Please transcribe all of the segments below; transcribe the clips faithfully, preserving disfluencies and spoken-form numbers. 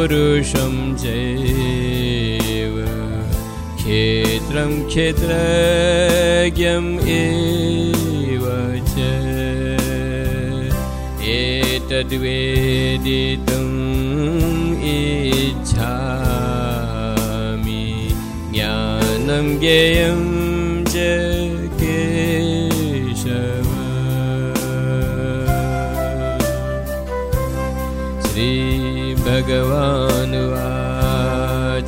पुरुषं चैव क्षेत्रं क्षेत्रज्ञम् एव च एतद्वेदितुम् इच्छामि ज्ञानं ज्ञेयं च केशव। श्रीभगवानुवाच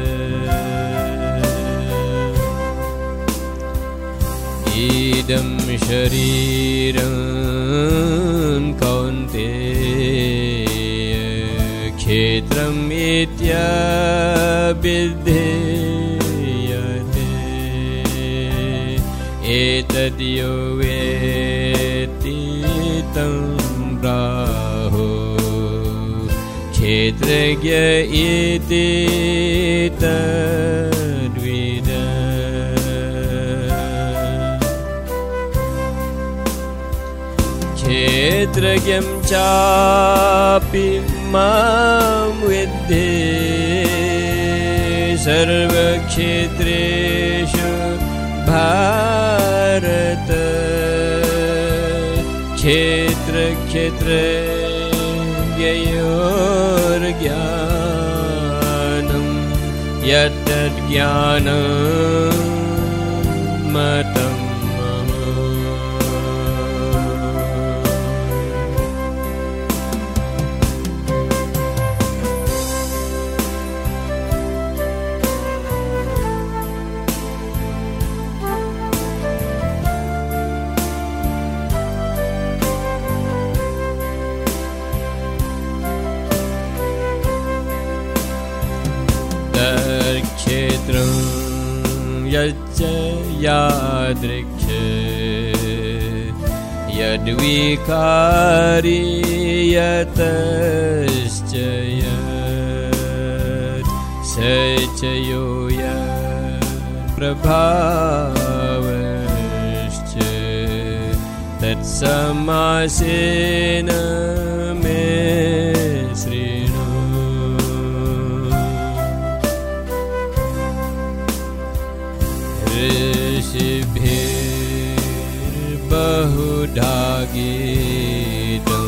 इदं शरीरं कौन्तेय क्षेत्रम् इत्यभिधीयते एतद्यो वेत्ति तं प्राहुः क्षेत्रज्ञ इति तद्विद। क्षेत्रज्ञं चापि मां विद्धि सर्वक्षेत्रेषु भारत क्षेत्रक्षेत्रज्ञयोर्ज्ञानं यत्तज्ज्ञानं मतं मम। क्षेत्रं यच्च यादृक्ष यद्विकारी यतश्च यत् स च यो यत्प्रभावश्च तत्समासेन मे शृणु। ऋषिभिर्बहुधा गीतं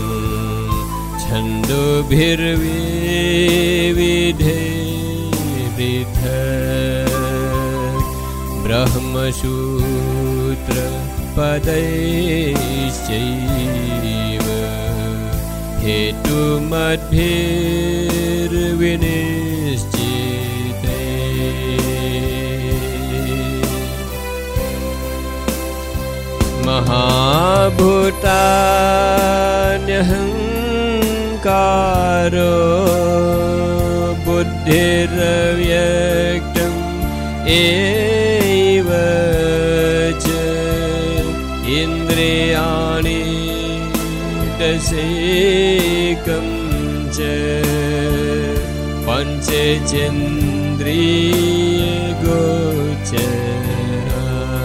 छन्दोभिर्विविधैः ब्रह्मसूत्रपदैश्चैव हेतुमद्भिर्विनिश्चिते। महाभूतान्यहङ्कारो बुद्धिरव्यक्तम् एव च इन्द्रियाणि दशैकं च पञ्चचेन्द्रियगोचरा।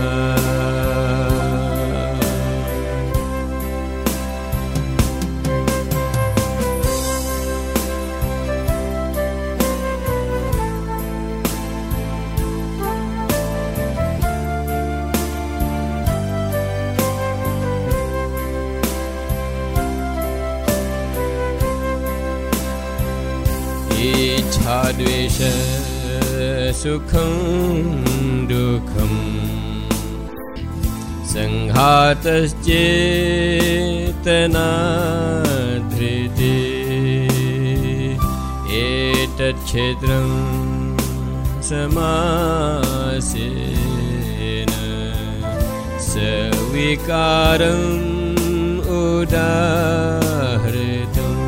इच्छाद्वेष सुखं दुःखं संघातश्चेतना धृतिः एतच्छेत्रं समासेन सविकारम् उदाहृतम्।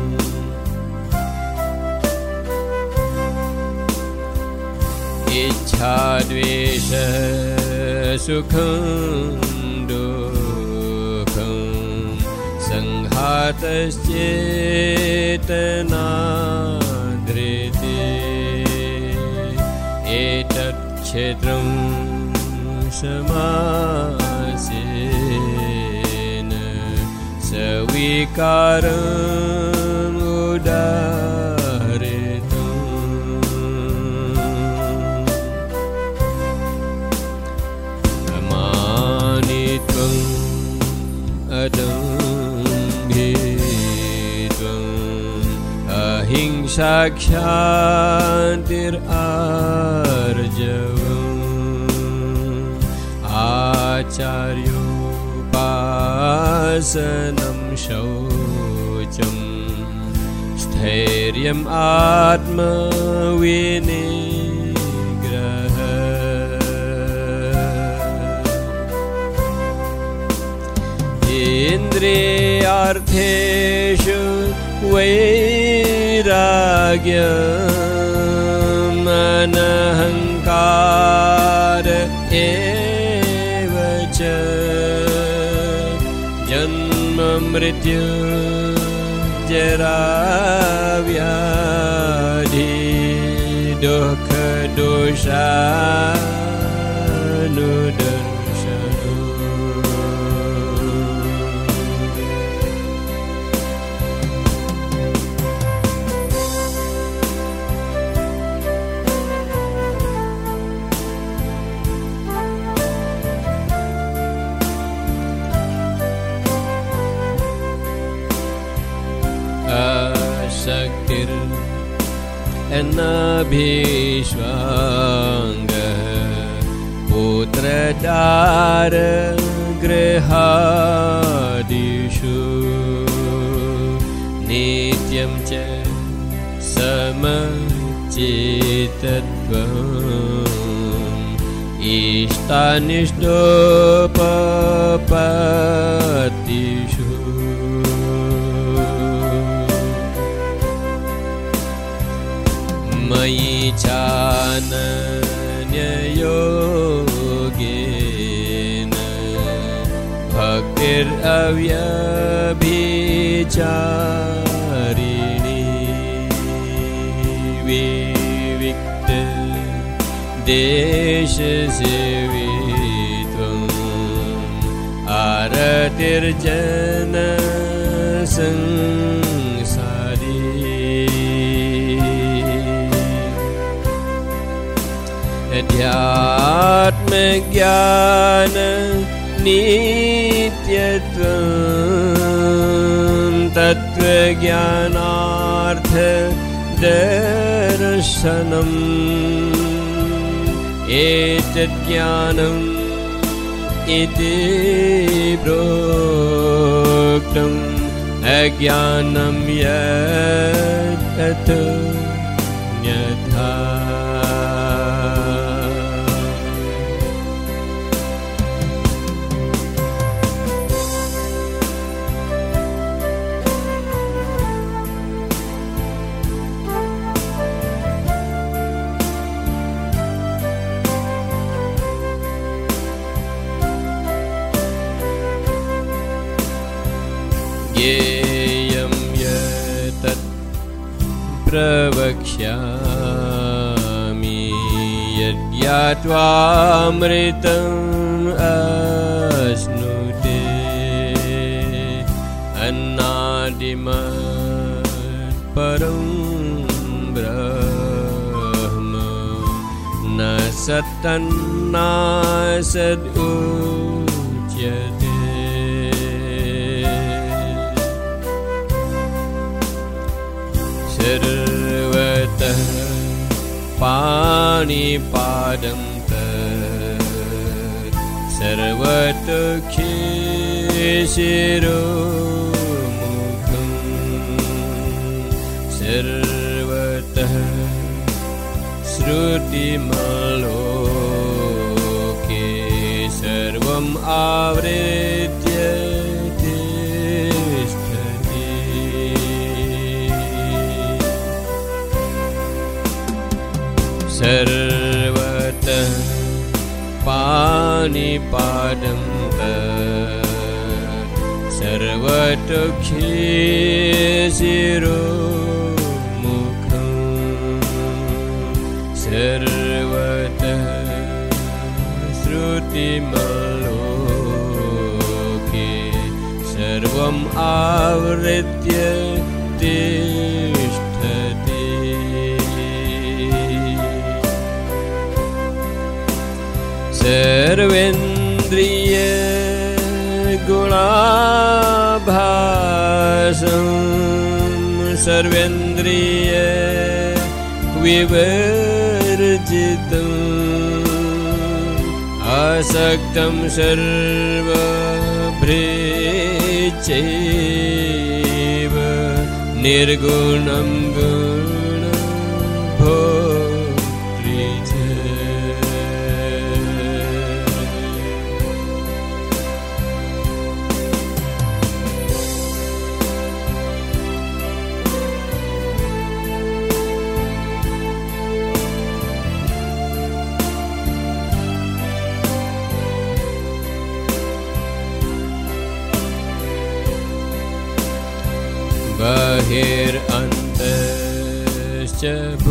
इच्छाद्वेष सुखं दुःखं संघातश्चेतना धृतिः एतच्छेत्रं समासेन सविकारम् उदाहृतम्। अहिंसा क्षान्तिरार्जवम् आचार्योपासनं शौचम् स्थैर्यम् आत्मविनिग्रहः इन्द्रियार्थेषु वैराग्यम् अनहङ्कार एव च जन्म मृत्यु जरा व्याधि दुःख दोषानुदर्शनम् शक्तिर् अनभिष्वाङ्गः पुत्रदार गृहादिषु नित्यं च समचित्तत्वम् इष्टानिष्टोपपत्तिषु मयि चानन्ययोगेन भक्तिरव्यभिचारिणी विविक्त देशसेवित्वम् आरतिर्जन संसारी अध्यात्मज्ञान नित्यत्वम् तत्त्वज्ञानार्थ दर्शनम् एतज्ज्ञानम् इति प्रोक्तम् अज्ञानं यत् तत् न्यथा ज्ञेयं यतत् प्रवक्ष्यामि यज्ञात्वामृतम् अश्नुते अन्नादिमत् परं ब्रह्म न सत्तन्नासदुच्यते सर्वतः पाणिपादं तत् सर्वतः शिरोमुखम् सर्वतः श्रुतिमलोके सर्वम् आवृत्य सर्वतः पाणिपादं तत् सर्वतः शिरोमुखम् सर्वतः श्रुतिमलोके सर्वम् आवृत्य तिष्ठति सर्वेन्द्रिय गुणाभासं सर्वेन्द्रिय विवर्जितम् आसक्तं सर्वभृच्चैव निर्गुणं गुणभोक्तृ च बहिरन्तश्च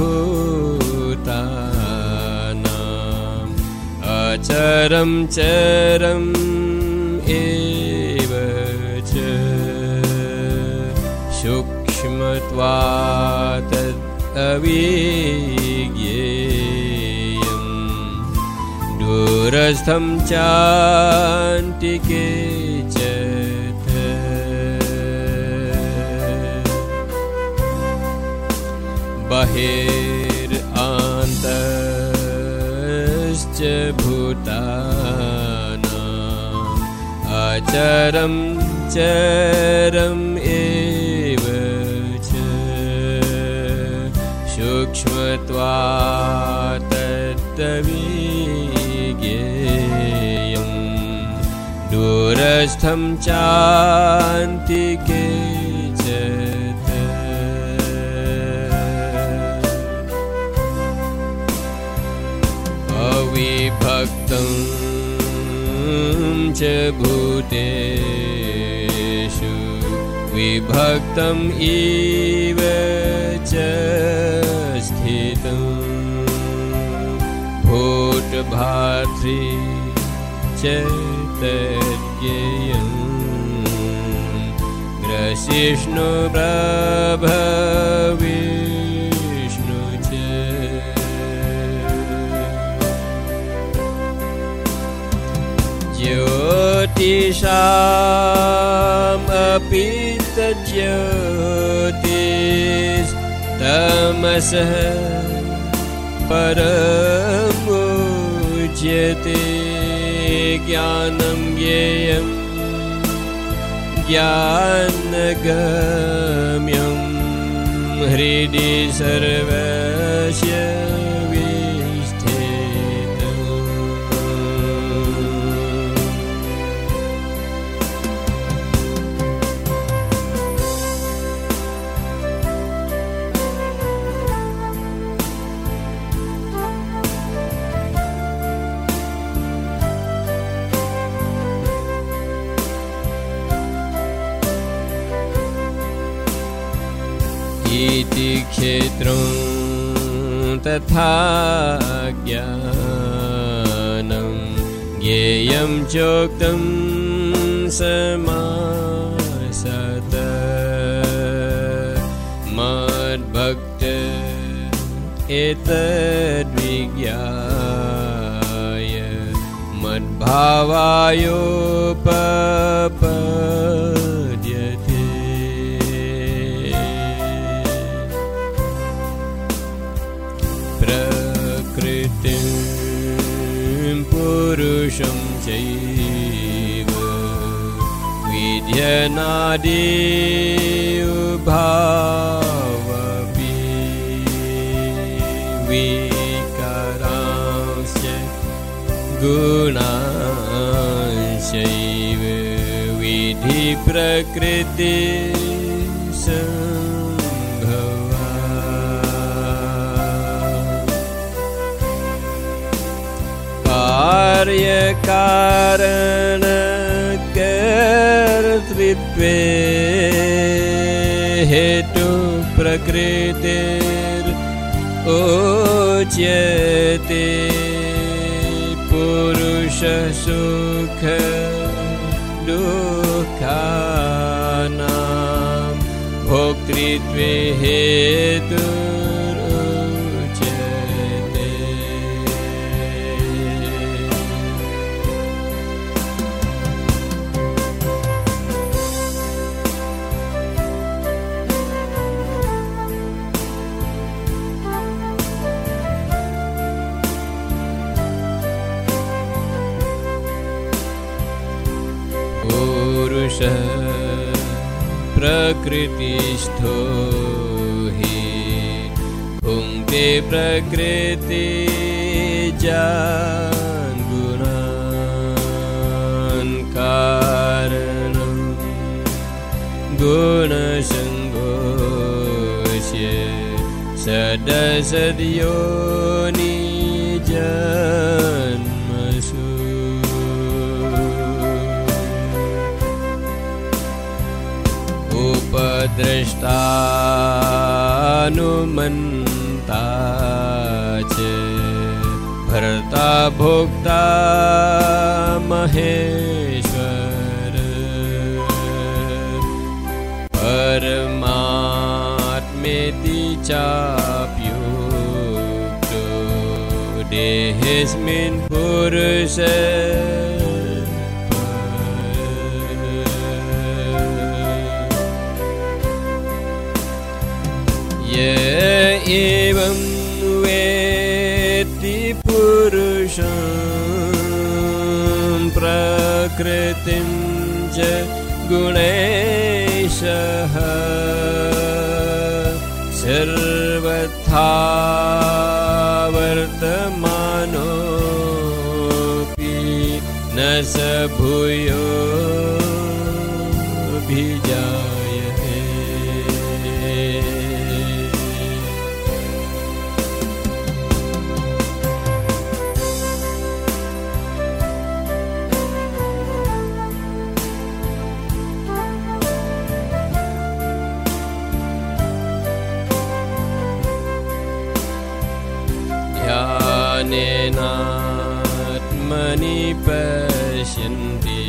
भूतानाम् अचरं चरम् एव च सूक्ष्मत्वात् अविज्ञेयम् दूरस्थं चान्तिके च बहिरन्तश्च भूतानाम् अचरं चरम् एव च सूक्ष्मत्वात् तद्विज्ञेयम् दूरस्थं चान्तिके च अविभक्तं च भूतेषु विभक्तम् इव च स्थितं भूतभातृ च तज्ज्ञेयं ग्रसिष्णु प्रभविष्णु च ज्योतिषामपि तज्ज्योतिस्तमसः परमुच्यते ज्ञानं ज्ञेयं ज्ञानगम्यं हृदि सर्वस्य इति क्षेत्रं तथा ज्ञानं ज्ञेयं चोक्तं समासत मद्भक्त एतद्विज्ञाय मद्भावायोपपद्यते प्रकृतिं पुरुषं चैव विद्यनादि उभावपि विकारांश्च गुणांश्चैव विधि प्रकृति कार्यकारणकर्तृत्वे हेतु प्रकृतिरुच्यते पुरुष सुख दुःखानां भोक्तृत्वे हेतु पुरुषः प्रकृतिस्थो हि भुङ्क्ते प्रकृतिजान् गुणान् कारणं गुणसङ्गोऽस्य सदसद्योनिजन्मसु उपद्रष्टानुमन्ता च भर्ता भोक्ता महेश्वर परमात्मेति चाप्युक्तो देहेऽस्मिन् पुरुषे य एवं वेत्ति पुरुषं प्रकृतिं च गुणैशः सर्वथा वर्तमानोऽपि न स भूयोऽभिजायते। ध्यानेनात्मनि पश्यन्ति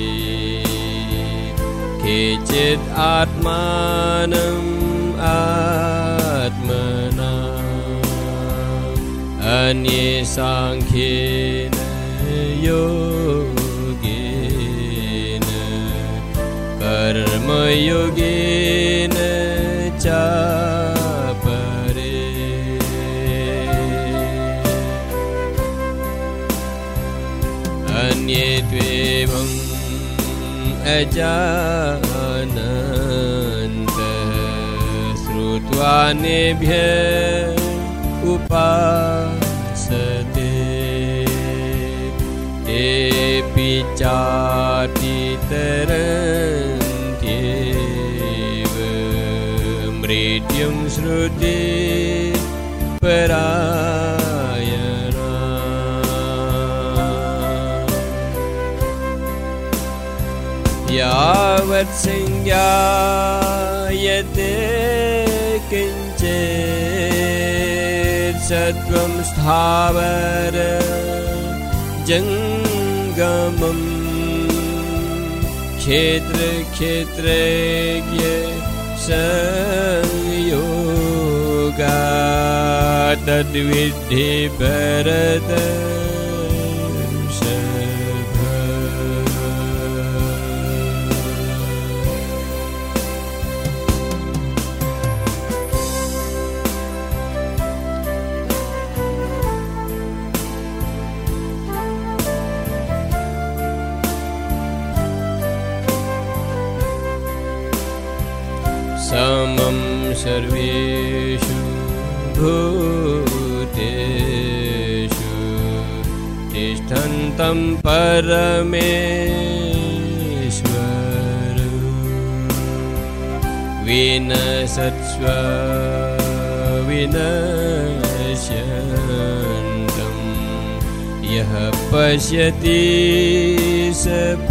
केचित् आत्मानम् आत्मना अन्ये साङ्ख्येन योगेन कर्मयोगेन चापरे अन्ये त्वेवम् अजानन्तः श्रुत्वा नेभ्यः उपासते तेऽपि चातितरन्त्येव मृत्युं श्रुति परायणा यावत् संज्ञायते किञ्चित् सत्त्वं स्थावर जङ्गमम् क्षेत्रक्षेत्रज्ञ संयोगा तद्विद्धि भरत समं सर्वेषु भूतेषु तिष्ठन्तं परमेश्वरं विनशत्स्व विनश्यन्तं यः पश्यति स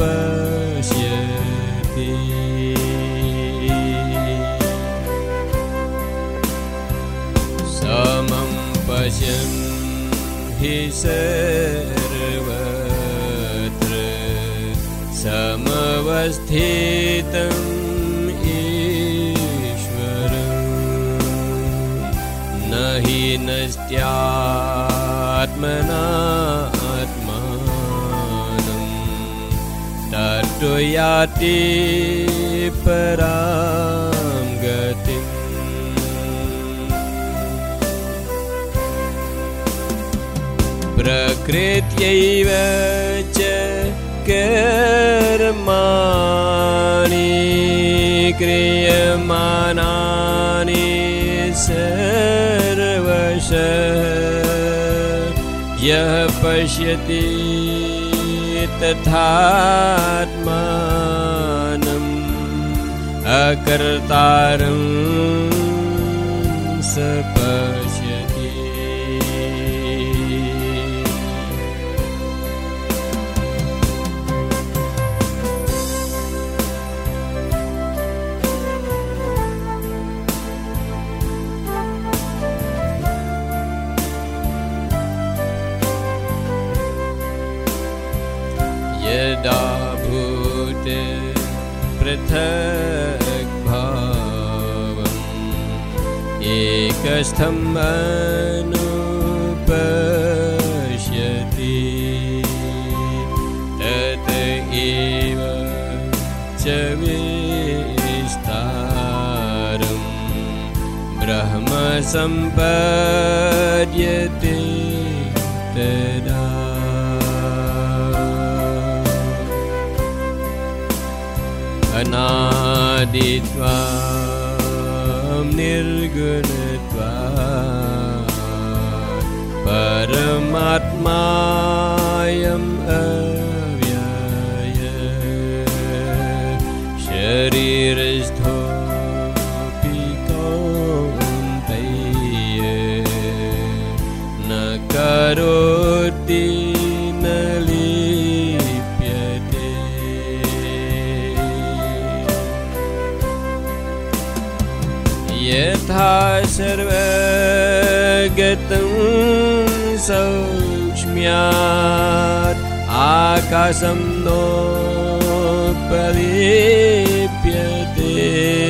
पश्यति। समं पश्यन् हि सर्वत्र समवस्थितम् ईश्वरं न हि नस्त्यात्मनात्मानं ततो याति परां गतिम्। प्रकृत्यैव च कर्माणि क्रियमाणानि सर्वशः यः पश्यति तथात्मानम् अकर्तारं स पश्यति। यदा भूते पृथक् भावम् एकस्थम् अनुपश्यति तत एव च विस्तारम् ब्रह्म सम्पद्यते तदा। अनादित्वात् निर्गुणत्वात् परमात्मायम् अव्यय शरीरस्थोऽपि कौन्तेय न करोति न लिप्यते। यथा सर्वगतं सौक्ष्म्यात् आकाशं नोपलिप्यते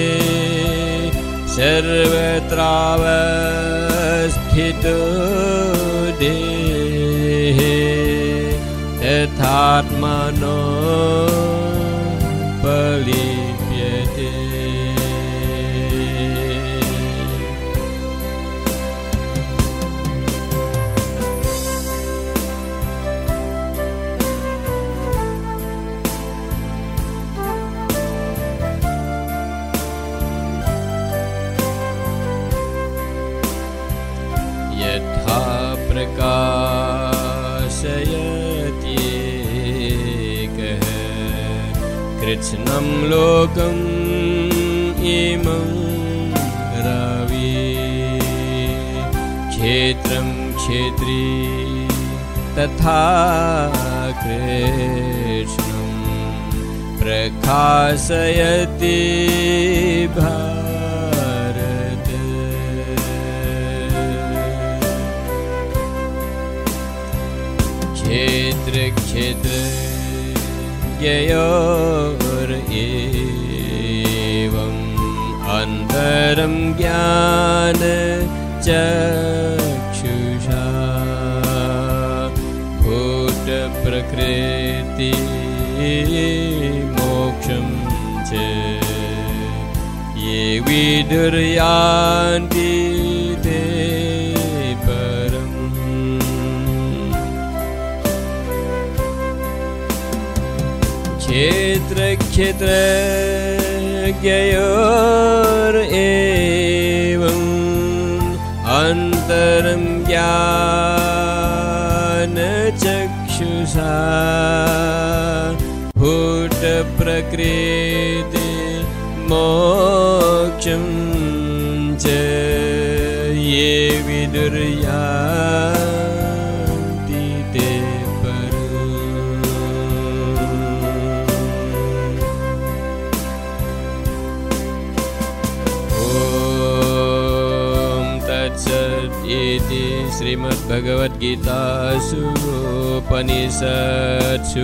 सर्वत्रावस्थितो देहे तथात्मनोपलिप्यते। यथा प्रकाशयत्येकः कृत्स्नं लोकम् इमं रविः क्षेत्रं क्षेत्री तथा कृष्णं प्रकाशयति भारत। क्षेत्र क्षेत्र ज्ञयोरेवम् अन्तरं ज्ञान चक्षुषा भूत प्रकृति मोक्षं च ये विदुर्यान्ति ते परम्। क्षेत्र क्षेत्र ज्ञयोरेवम् अन्तरं ज्ञान चक्षुषा भूत प्रकृति मोक्षं च ये विदुर्यान्ति ते परम्। इति श्रीमद्भगवद्गीतासु उपनिषत्सु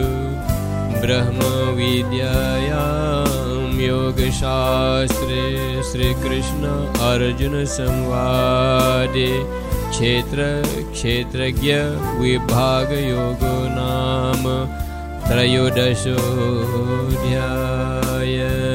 ब्रह्मविद्यायां योगशास्त्रे श्रीकृष्ण अर्जुन संवादे क्षेत्र क्षेत्रज्ञ विभाग योगो नाम त्रयोदशोऽध्यायः।